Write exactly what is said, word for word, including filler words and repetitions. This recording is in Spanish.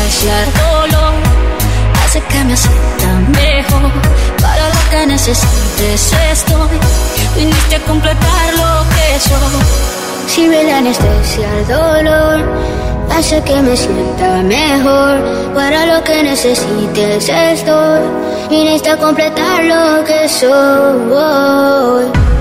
anestesia el dolor, hace que me sienta mejor. Para lo que necesites estoy, viniste a completar lo que soy. Sirve la anestesia el dolor, hace que me sienta mejor. Para lo que necesites estoy, viniste a completar lo que soy.